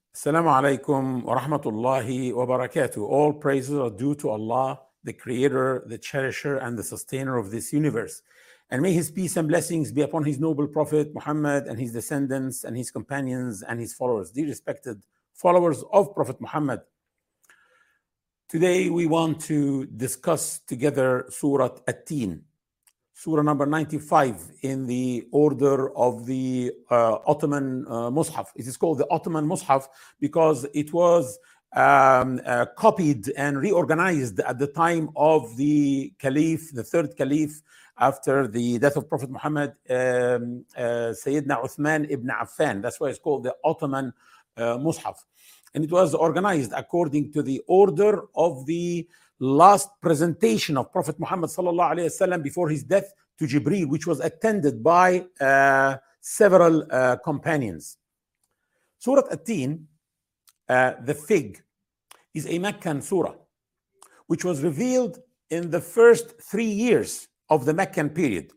Assalamu alaikum wa rahmatullahi wa barakatuh. All praises are due to Allah, the creator, the cherisher, and the sustainer of this universe. And may his peace and blessings be upon his noble prophet Muhammad and his descendants and his companions and his followers. Dear respected followers of Prophet Muhammad, today we want to discuss together Surah At-Tin, Surah number 95 in the order of the Ottoman Mus'haf. It is called the Ottoman Mus'haf because it was copied and reorganized at the time of the Caliph, the third Caliph, after the death of Prophet Muhammad, Sayyidina Uthman ibn Affan. That's why it's called the Ottoman Mus'haf. And it was organized according to the order of the last presentation of Prophet Muhammad sallallahu alaihi wasallam before his death to Jibreel, which was attended by several companions. Surah At-Tin, the fig, is a Meccan surah, which was revealed in the first 3 years of the Meccan period.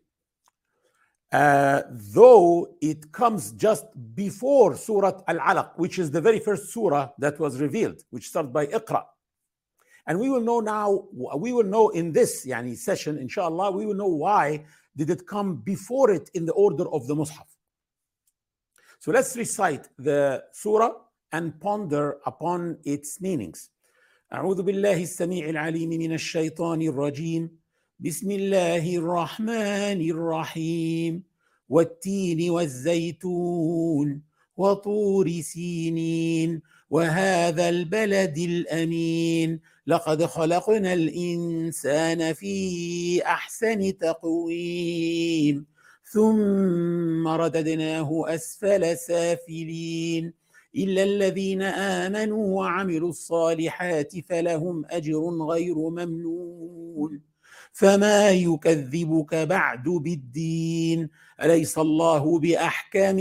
Though it comes just before Surah Al-Alaq, which is the very first surah that was revealed, which starts by Iqra. And we will know in this session, inshallah, we will know why did it come before it in the order of the Mus'haf. So let's recite the surah and ponder upon its meanings. أعوذ بالله السميع العليم من الشيطان الرجيم بسم الله الرحمن الرحيم والتين والزيتون وطور سينين وهذا البلد الأمين لقد خلقنا الإنسان في أحسن تقويم ثم رددناه أسفل سافلين إلا الذين آمنوا وعملوا الصالحات فلهم أجر غير ممنون فما يكذبك بعد بالدين أليس الله بأحكم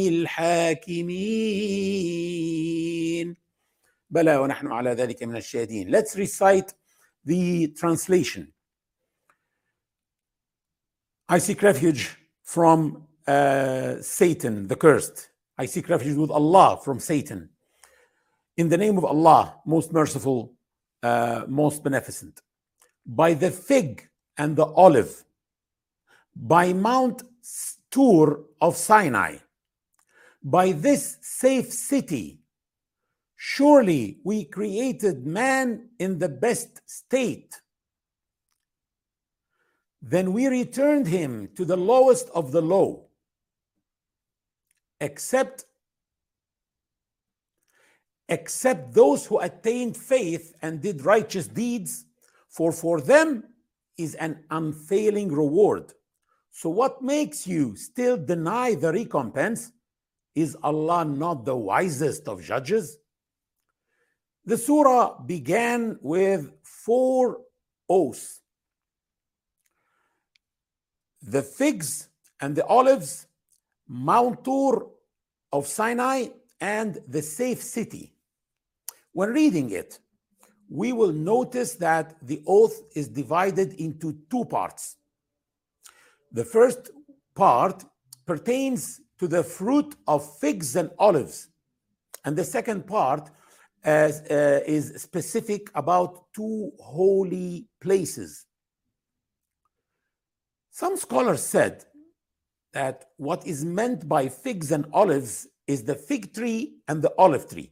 الحاكمين بلى ونحن على ذلك من الشاهدين. Let's recite the translation. I seek refuge from Satan, the cursed. I seek refuge with Allah from Satan. In the name of Allah, most merciful, most beneficent. By the fig and the olive, by Mount Tur of Sinai, by this safe city, surely we created man in the best state. Then we returned him to the lowest of the low, except those who attained faith and did righteous deeds, for them is an unfailing reward. So what makes you still deny the recompense? Is Allah not the wisest of judges? The surah began with 4 oaths. The figs and the olives, Mount Tur of Sinai, and the safe city. When reading it, we will notice that the oath is divided into 2 parts. The first part pertains to the fruit of figs and olives, and the second part is specific about 2 holy places. Some scholars said that what is meant by figs and olives is the fig tree and the olive tree.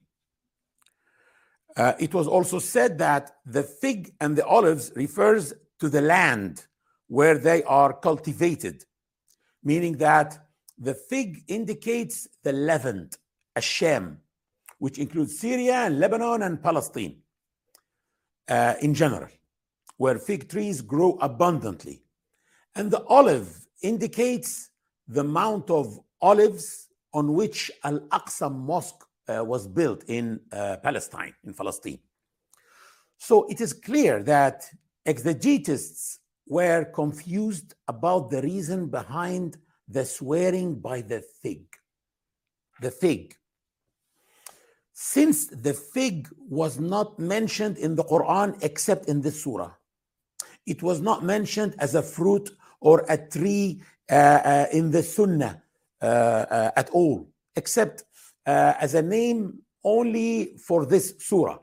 It was also said that the fig and the olives refers to the land where they are cultivated, meaning that the fig indicates the Levant, Ash-Sham, which includes Syria and Lebanon and Palestine in general, where fig trees grow abundantly. And the olive indicates the Mount of Olives on which Al-Aqsa Mosque was built in Palestine, in Palestine. So it is clear that exegetists were confused about the reason behind the swearing by the fig. The fig. Since the fig was not mentioned in the Quran except in this surah, it was not mentioned as a fruit or a tree in the Sunnah at all, except as a name only for this surah.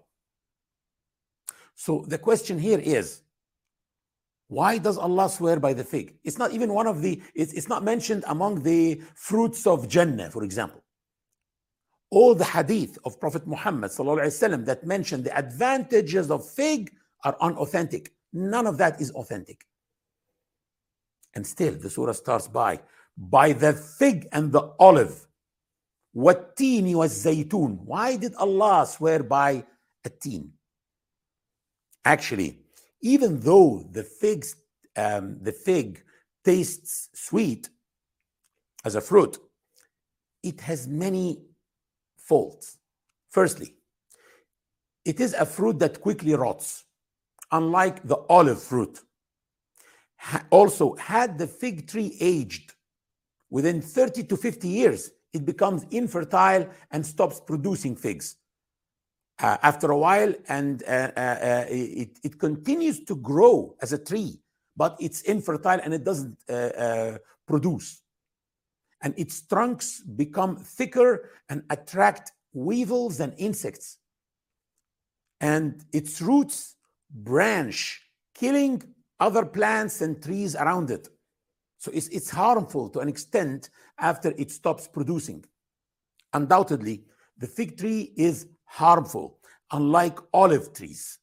So the question here is, why does Allah swear by the fig? It's not even one of the, it's not mentioned among the fruits of Jannah, for example. All the hadith of Prophet Muhammad ﷺ that mention the advantages of fig are unauthentic. None of that is authentic. And still the surah starts by the fig and the olive. وَالتِّينِ وَالزَّيْتُونِ. Why did Allah swear by a teen? Actually, even though the fig tastes sweet as a fruit, it has many faults. Firstly, it is a fruit that quickly rots, unlike the olive fruit. Also, had the fig tree aged within 30 to 50 years, it becomes infertile and stops producing figs. After a while, and it continues to grow as a tree, but it's infertile and it doesn't produce. And its trunks become thicker and attract weevils and insects. And its roots branch, killing other plants and trees around it. So it's harmful to an extent after it stops producing. Undoubtedly, the fig tree is harmful, unlike olive trees.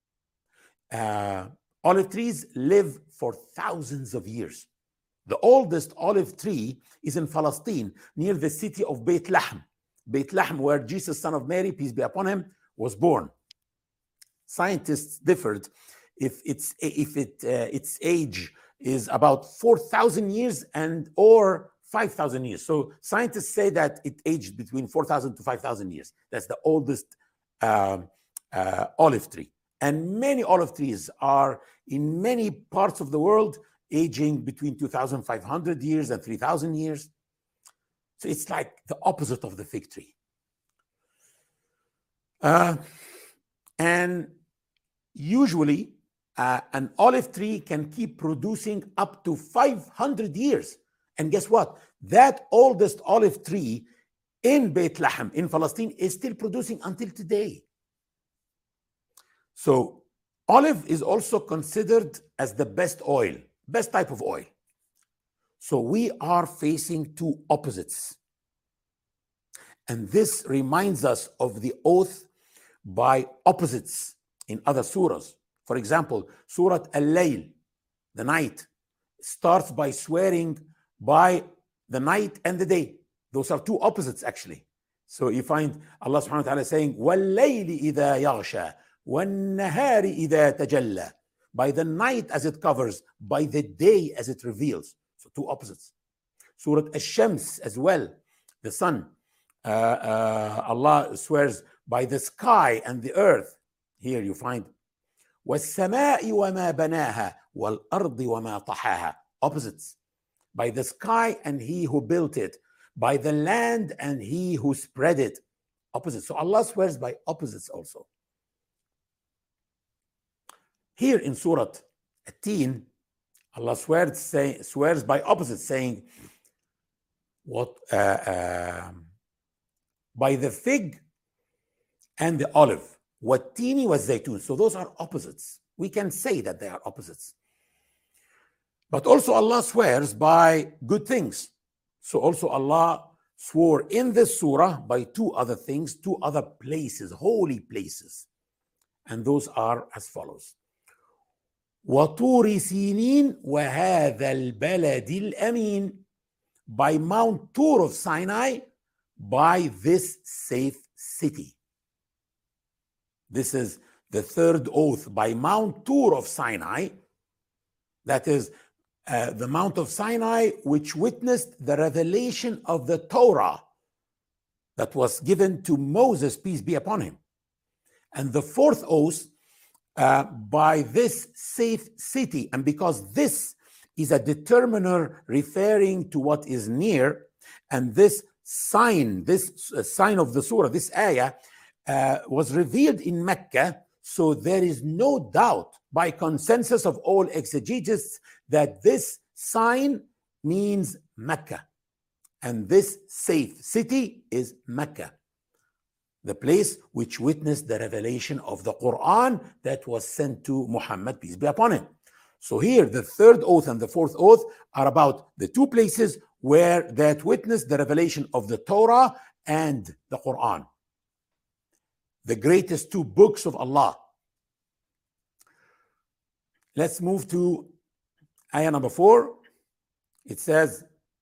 Olive trees live for thousands of years. The oldest olive tree is in Palestine, near the city of Beit Lahm. Beit Lahm, where Jesus, son of Mary, peace be upon him, was born. Scientists differed if its age is about 4,000 years or 5,000 years. So scientists say that it aged between 4,000 to 5,000 years. That's the oldest olive tree. And many olive trees are in many parts of the world aging between 2,500 years and 3,000 years. So it's like the opposite of the fig tree. And usually, an olive tree can keep producing up to 500 years. And guess what? That oldest olive tree in Beit Lahm, in Palestine, is still producing until today. So olive is also considered as the best oil, best type of oil. So we are facing two opposites. And this reminds us of the oath by opposites in other surahs. For example, Surah Al-Layl, the night, starts by swearing by the night and the day. Those are two opposites, actually. So you find Allah subhanahu wa ta'ala saying, وَاللَّيْلِ إِذَا يَغْشَى وَالنَّهَارِ إِذَا تَجَلَّى. By the night as it covers, by the day as it reveals. So two opposites. Surah Ash-Shams as well, the sun. Allah swears by the sky and the earth. Here you find وَالسَّمَاءِ وَمَا بَنَاهَا وَالْأَرْضِ وَمَا طَحَاهَا. Opposites. By the sky and he who built it. By the land and he who spread it. Opposites. So Allah swears by opposites also. Here in Surah At-Teen, Allah swears by opposites, saying, by the fig and the olive. وَالتِّينِ وَالزَّيْتُونِ. So those are opposites. We can say that they are opposites. But also Allah swears by good things. So also Allah swore in this surah by two other things, two other places, holy places. And those are as follows. وَطُورِ سِينِينَ وَهَذَا الْبَلَدِ الْأَمِينَ. By Mount Tur of Sinai, by this safe city. This is the third oath, by Mount Tur of Sinai. That is the Mount of Sinai, which witnessed the revelation of the Torah that was given to Moses, peace be upon him. And the fourth oath, by this safe city. And because this is a determiner referring to what is near, and this sign of the surah, this ayah, was revealed in Mecca, so there is no doubt by consensus of all exegetes that this sign means Mecca, and this safe city is Mecca. the place which witnessed the revelation of the Quran that was sent to Muhammad, peace be upon him. So here, the third oath and the fourth oath are about the two places where that witnessed the revelation of the Torah and the Quran, the greatest two books of Allah. Let's move to ayah number 4. It says,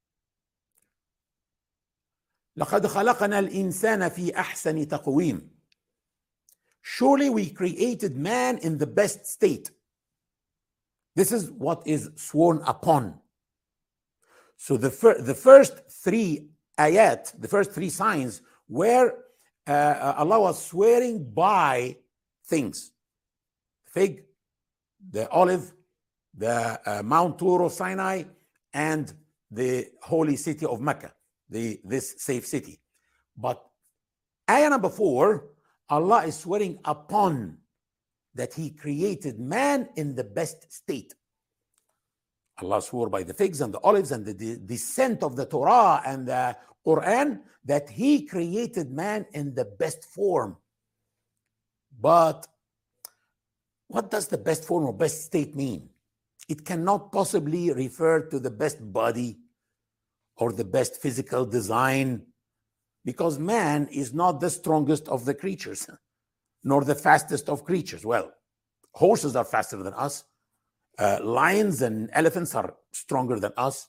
لَقَدْ خَلَقَنَا الْإِنسَانَ فِي أَحْسَنِ تَقْوِيمٍ. Surely we created man in the best state. This is what is sworn upon. So the first three ayat, the first three signs, where Allah was swearing by things: fig, the olive, the Mount Tur of Sinai, and the holy city of Mecca, this safe city. But ayah number 4, Allah is swearing upon that He created man in the best state. Allah swore by the figs and the olives and the descent of the Torah and the Quran that He created man in the best form. But what does the best form or best state mean? It cannot possibly refer to the best body or the best physical design, because man is not the strongest of the creatures, nor the fastest of creatures. Well, horses are faster than us. Lions and elephants are stronger than us,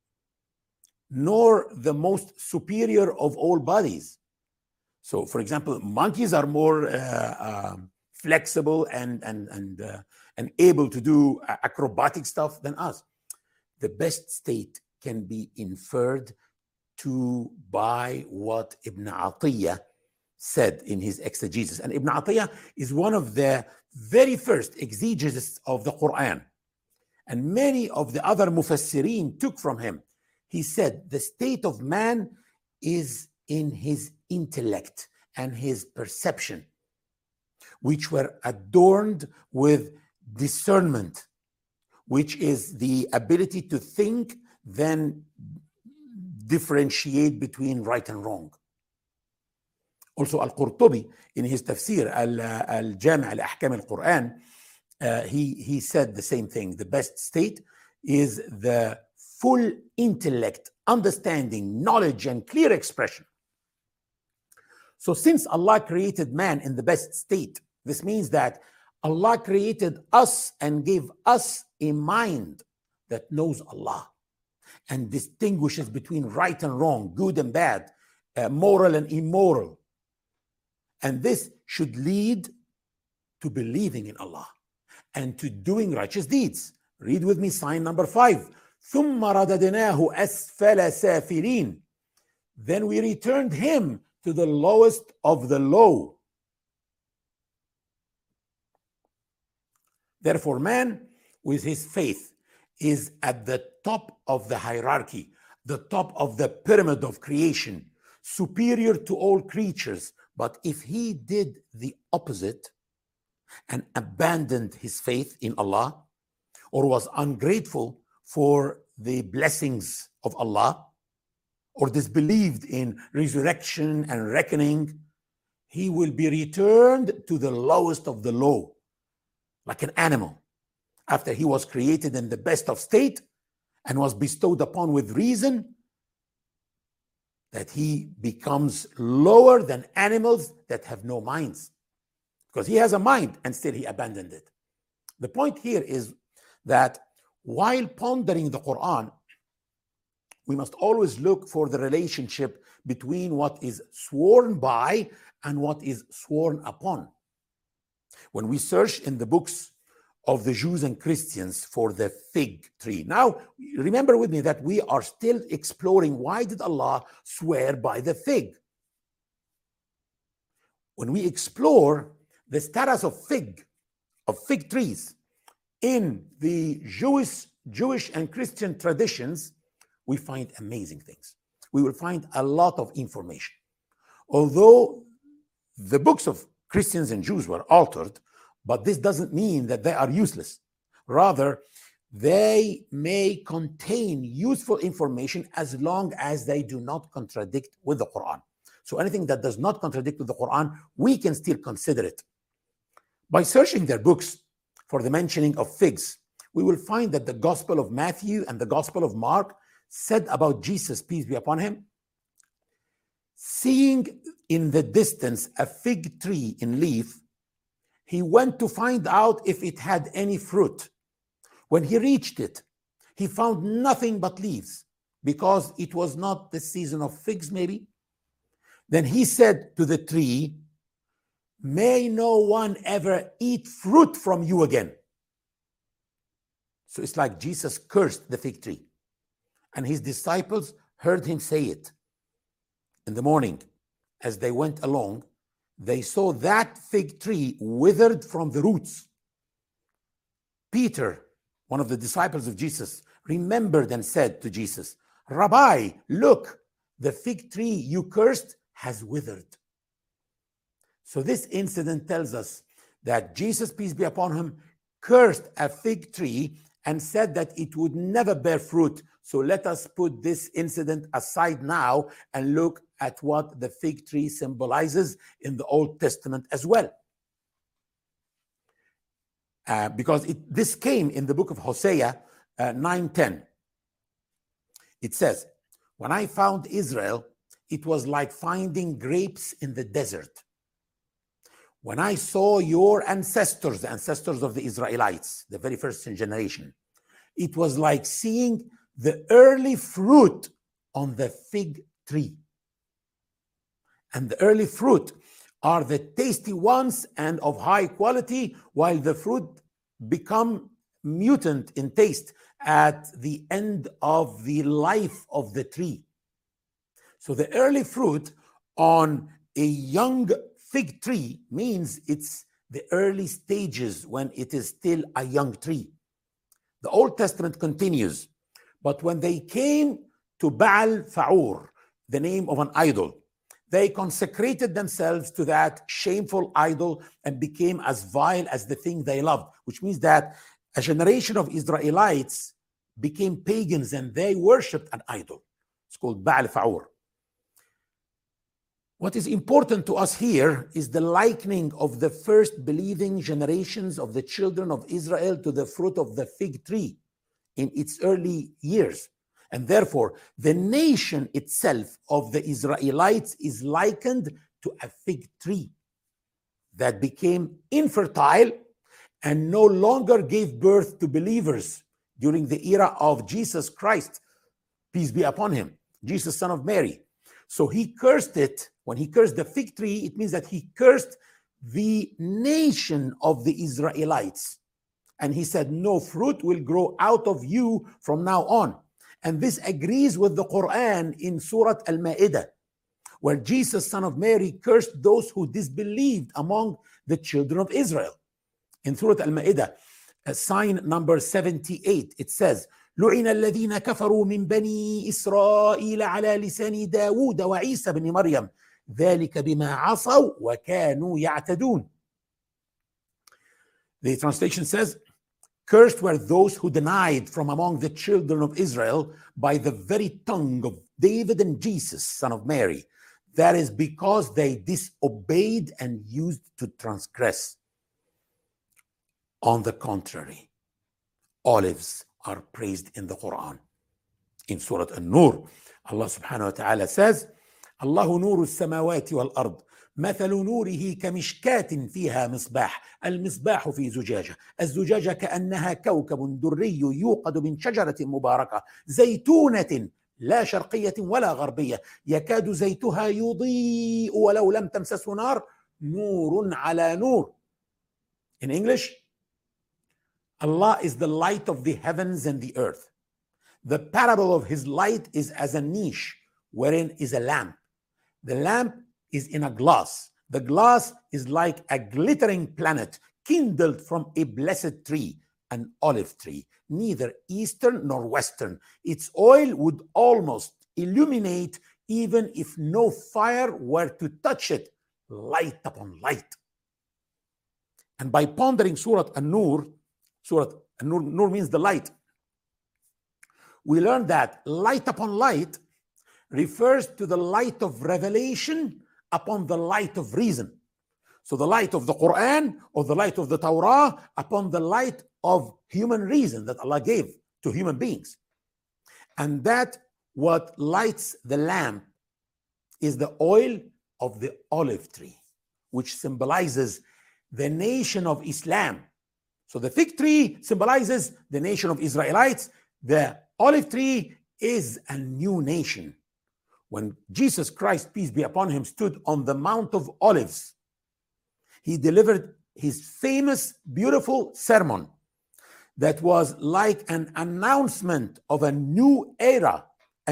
nor the most superior of all bodies. So, for example, monkeys are more flexible and able to do acrobatic stuff than us. The best state can be inferred by what Ibn Atiyah said in his exegesis. And Ibn Atiyah is one of the very first exegetists of the Quran. And many of the other mufassirin took from him. He said the state of man is in his intellect and his perception, which were adorned with discernment, which is the ability to think, then differentiate between right and wrong. Also, Al-Qurtubi, in his tafsir, Al-Jami' al-Ahkam al-Quran, he said the same thing. The best state is the full intellect, understanding, knowledge, and clear expression. So since Allah created man in the best state, this means that Allah created us and gave us a mind that knows Allah and distinguishes between right and wrong, good and bad, moral and immoral. And this should lead to believing in Allah and to doing righteous deeds. Read with me sign number 5. ثُمَّ رَدَدْنَاهُ أَسْفَلَ سَافِلِينَ. Then we returned him to the lowest of the low. Therefore, man with his faith is at the top of the hierarchy, the top of the pyramid of creation, superior to all creatures. But if he did the opposite and abandoned his faith in Allah, or was ungrateful for the blessings of Allah, or disbelieved in resurrection and reckoning, he will be returned to the lowest of the low, like an animal, after he was created in the best of state and was bestowed upon with reason, that he becomes lower than animals that have no minds, because he has a mind and still he abandoned it. The point here is that while pondering the Quran, we must always look for the relationship between what is sworn by and what is sworn upon. When we search in the books of the Jews and Christians for the fig tree. Now, remember with me that we are still exploring why did Allah swear by the fig. When we explore the status of fig trees in the Jewish and Christian traditions, we find amazing things. We will find a lot of information. Although the books of Christians and Jews were altered, but this doesn't mean that they are useless. Rather, they may contain useful information as long as they do not contradict with the Quran. So anything that does not contradict with the Quran, we can still consider it. By searching their books for the mentioning of figs, we will find that the Gospel of Matthew and the Gospel of Mark said about Jesus, peace be upon him, seeing in the distance a fig tree in leaf, he went to find out if it had any fruit. When he reached it, he found nothing but leaves, because it was not the season of figs, maybe. Then he said to the tree, may no one ever eat fruit from you again. So it's like Jesus cursed the fig tree. And his disciples heard him say it. In the morning, as they went along, they saw that fig tree withered from the roots. Peter, one of the disciples of Jesus, remembered and said to Jesus, Rabbi, look, the fig tree you cursed has withered. So this incident tells us that Jesus, peace be upon him, cursed a fig tree and said that it would never bear fruit. So let us put this incident aside now and look at what the fig tree symbolizes in the Old Testament as well. Because this came in the book of Hosea 9:10. It says, when I found Israel, it was like finding grapes in the desert. When I saw your ancestors, the ancestors of the Israelites, the very first generation, it was like seeing the early fruit on the fig tree. And the early fruit are the tasty ones and of high quality, while the fruit become mutant in taste at the end of the life of the tree. So the early fruit on a young fig tree means it's the early stages when it is still a young tree. The Old Testament continues, but when they came to Baal Fa'ur, the name of an idol, they consecrated themselves to that shameful idol and became as vile as the thing they loved, which means that a generation of Israelites became pagans and they worshipped an idol. It's called Baal Fa'ur. What is important to us here is the likening of the first believing generations of the children of Israel to the fruit of the fig tree in its early years. And therefore, the nation itself of the Israelites is likened to a fig tree that became infertile and no longer gave birth to believers during the era of Jesus Christ, peace be upon him, Jesus, son of Mary. So he cursed it. When he cursed the fig tree, it means that he cursed the nation of the Israelites. And he said, no fruit will grow out of you from now on. And this agrees with the Quran in Surah Al-Ma'idah, where Jesus, son of Mary, cursed those who disbelieved among the children of Israel. In Surah Al-Ma'idah, sign number 78, it says, لعن الذين كفروا من بني إسرائيل على لسان داود وعيسى بن مريم ذلك بما عصوا وكانوا يعتدون. The translation says, cursed were those who denied from among the children of Israel by the very tongue of David and Jesus, son of Mary. That is because they disobeyed and used to transgress. On the contrary, olives are praised in the Quran. In Surah An-Nur, Allah subhanahu wa ta'ala says, Allahu nuru as-samawati wal-ard. مثل نوره كمشكاة فيها مصباح المصباح في زجاجة الزجاجة كأنها كوكب دري يوقد من شجرة مباركة زيتونة لا شرقية ولا غربية يكاد زيتها يضيء ولو لم تمسسه نار نور على نور. In English, Allah is the light of the heavens and the earth. The parable of his light is as a niche wherein is a lamp. The lamp is in a glass. The glass is like a glittering planet kindled from a blessed tree, an olive tree, neither eastern nor western. Its oil would almost illuminate even if no fire were to touch it, light upon light. And by pondering Surah An-Nur Nur means the light, we learn that light upon light refers to the light of revelation upon the light of reason. So the light of the Quran or the light of the Torah upon the light of human reason that Allah gave to human beings. And that what lights the lamp is the oil of the olive tree, which symbolizes the nation of Islam. So the fig tree symbolizes the nation of Israelites. The olive tree is a new nation. When Jesus Christ, peace be upon him, stood on the Mount of Olives, he delivered his famous, beautiful sermon that was like an announcement of a new era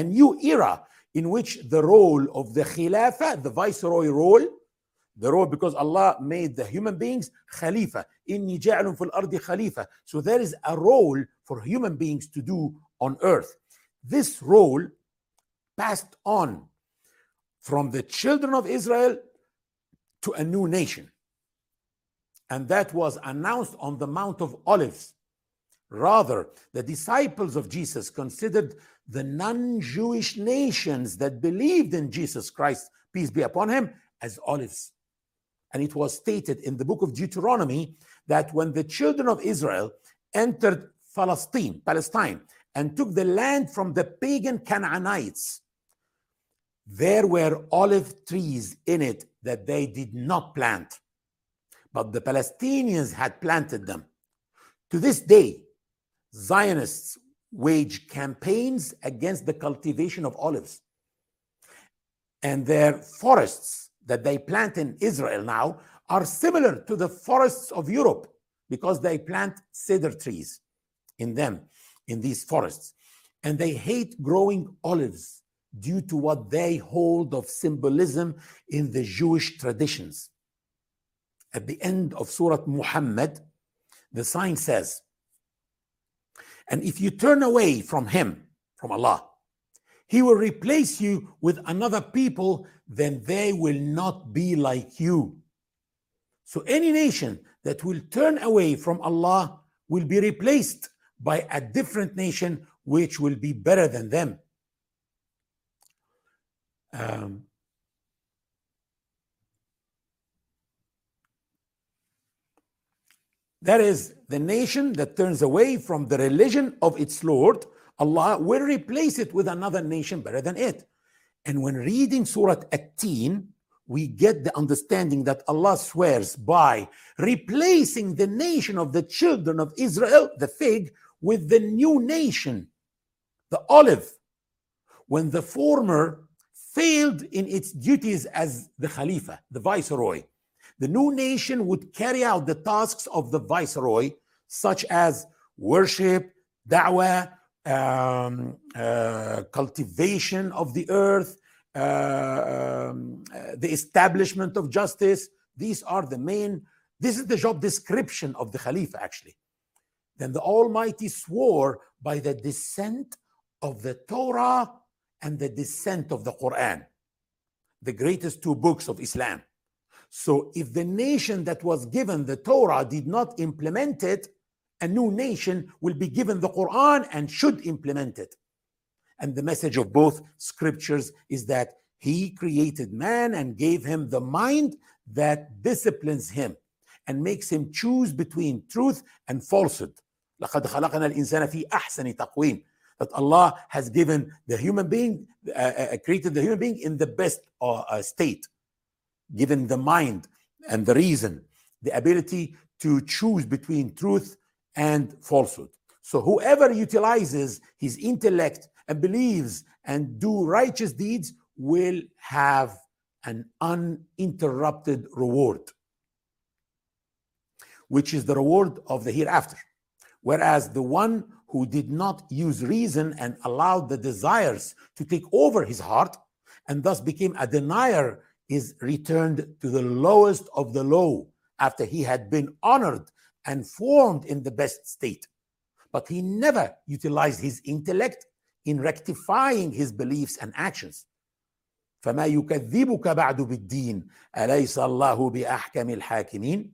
in which the role of the Khilafah, the viceroy role, because Allah made the human beings Khalifa. Inni ja'alun fil ardi Khalifa. So there is a role for human beings to do on earth. This role passed on from the children of Israel to a new nation. And that was announced on the Mount of Olives. Rather, the disciples of Jesus considered the non-Jewish nations that believed in Jesus Christ, peace be upon him, as olives. And it was stated in the book of Deuteronomy that when the children of Israel entered Palestine, and took the land from the pagan Canaanites, there were olive trees in it that they did not plant, but the Palestinians had planted them. To this day, Zionists wage campaigns against the cultivation of olives. And their forests that they plant in Israel now are similar to the forests of Europe because they plant cedar trees in these forests. And they hate growing olives due to what they hold of symbolism in the Jewish traditions. At the end of Surah Muhammad, the sign says, and if you turn away from him, from Allah, he will replace you with another people, then they will not be like you. So any nation that will turn away from Allah will be replaced by a different nation which will be better than them. That is, the nation that turns away from the religion of its Lord, Allah will replace it with another nation better than it. And when reading Surah At-Teen, we get the understanding that Allah swears by replacing the nation of the children of Israel, the fig, with the new nation, the olive, when the former failed in its duties as the Khalifa, the viceroy. The new nation would carry out the tasks of the viceroy, such as worship, da'wah, cultivation of the earth, the establishment of justice. This is the job description of the Khalifa, actually. Then the Almighty swore by the descent of the Torah and the descent of the Quran, the greatest two books of Islam. So if the nation that was given the Torah did not implement it, a new nation will be given the Quran and should implement it. And the message of both scriptures is that he created man and gave him the mind that disciplines him and makes him choose between truth and falsehood. لَقَدْ خَلَقْنَا الْإِنسَانَ فِي أَحْسَنِ تَقْوِيمٍ. That Allah has given the human being, created the human being in the best state, given the mind and the reason, the ability to choose between truth and falsehood. So whoever utilizes his intellect and believes and do righteous deeds will have an uninterrupted reward, which is the reward of the hereafter. Whereas the one who did not use reason and allowed the desires to take over his heart and thus became a denier is returned to the lowest of the low after he had been honored and formed in the best state. But he never utilized his intellect in rectifying his beliefs and actions. فَمَا يُكَذِّبُكَ بَعْدُ بِالدِّينِ أَلَيْسَ اللَّهُ بِأَحْكَمِ الْحَاكِمِينَ.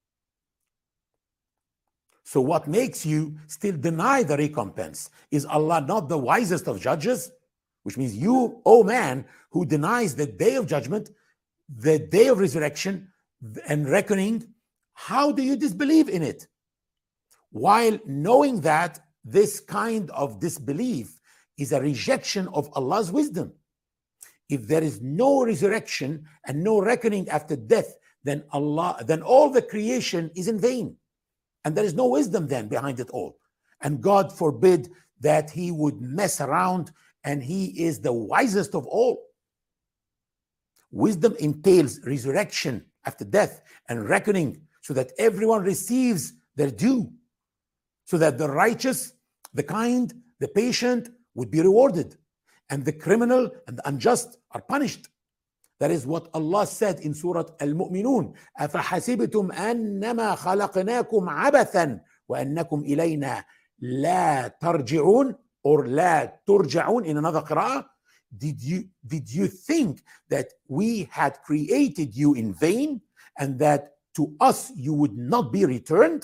So what makes you still deny the recompense? Is Allah not the wisest of judges? which means you, oh man, who denies the day of judgment, the day of resurrection and reckoning, how do you disbelieve in it? While knowing that this kind of disbelief is a rejection of Allah's wisdom. If there is no resurrection and no reckoning after death, then all the creation is in vain. And there is no wisdom then behind it all. And God forbid that he would mess around, and he is the wisest of all. Wisdom entails resurrection after death and reckoning so that everyone receives their due, so that the righteous, the kind, the patient would be rewarded, and the criminal and the unjust are punished. That is what Allah said in Surah Al-Mu'minun. أَفَحَسِبْتُمْ أَنَّمَا خَلَقْنَاكُمْ عَبَثًا وَأَنَّكُمْ إِلَيْنَا لَا تَرْجِعُونَ, or لَا تُرْجَعُونَ in another qira'ah. Did you think that we had created you in vain and that to us you would not be returned?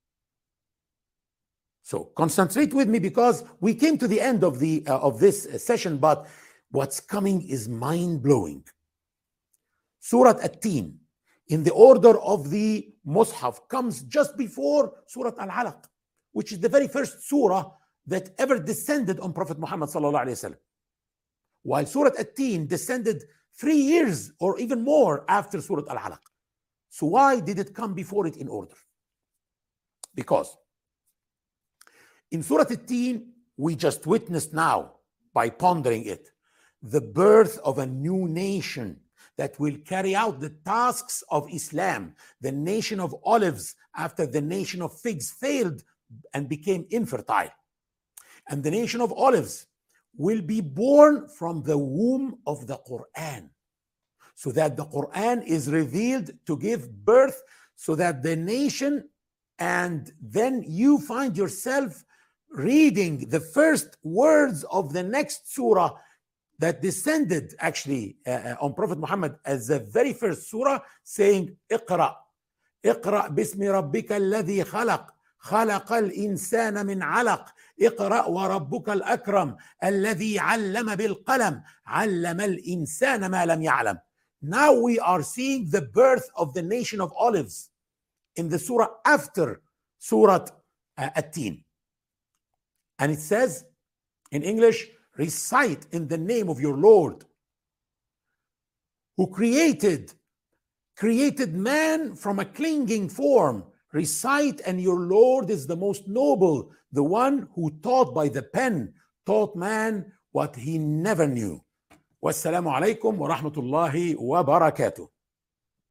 So concentrate with me, because we came to the end of this session, but what's coming is mind-blowing. Surah At-Teen, in the order of the Mus'haf, comes just before Surah Al-Alaq, which is the very first surah that ever descended on Prophet Muhammad sallallahu alaihi wasallam. While Surah At-Teen descended 3 years or even more after Surah Al-Alaq. So why did it come before it in order? Because in Surah At-Teen, we just witnessed now, by pondering it, the birth of a new nation that will carry out the tasks of Islam, the nation of olives after the nation of figs failed and became infertile. And the nation of olives will be born from the womb of the Quran, so that the Quran is revealed to give birth, so that the nation, and then you find yourself reading the first words of the next surah that descended actually on Prophet Muhammad as the very first surah, saying, اقرأ باسم ربك الذي خلق خلق الإنسان من علق اقرأ وربك الأكرم الذي علم بالقلم علم الإنسان ما لم يعلم. Now we are seeing the birth of the nation of olives in the surah after Surah At-Teen. And it says in English, recite in the name of your Lord, who created man from a clinging form. Recite, and your Lord is the most noble, the one who taught by the pen, taught man what he never knew. Wassalamu alaikum wa rahmatullahi wa barakatuh.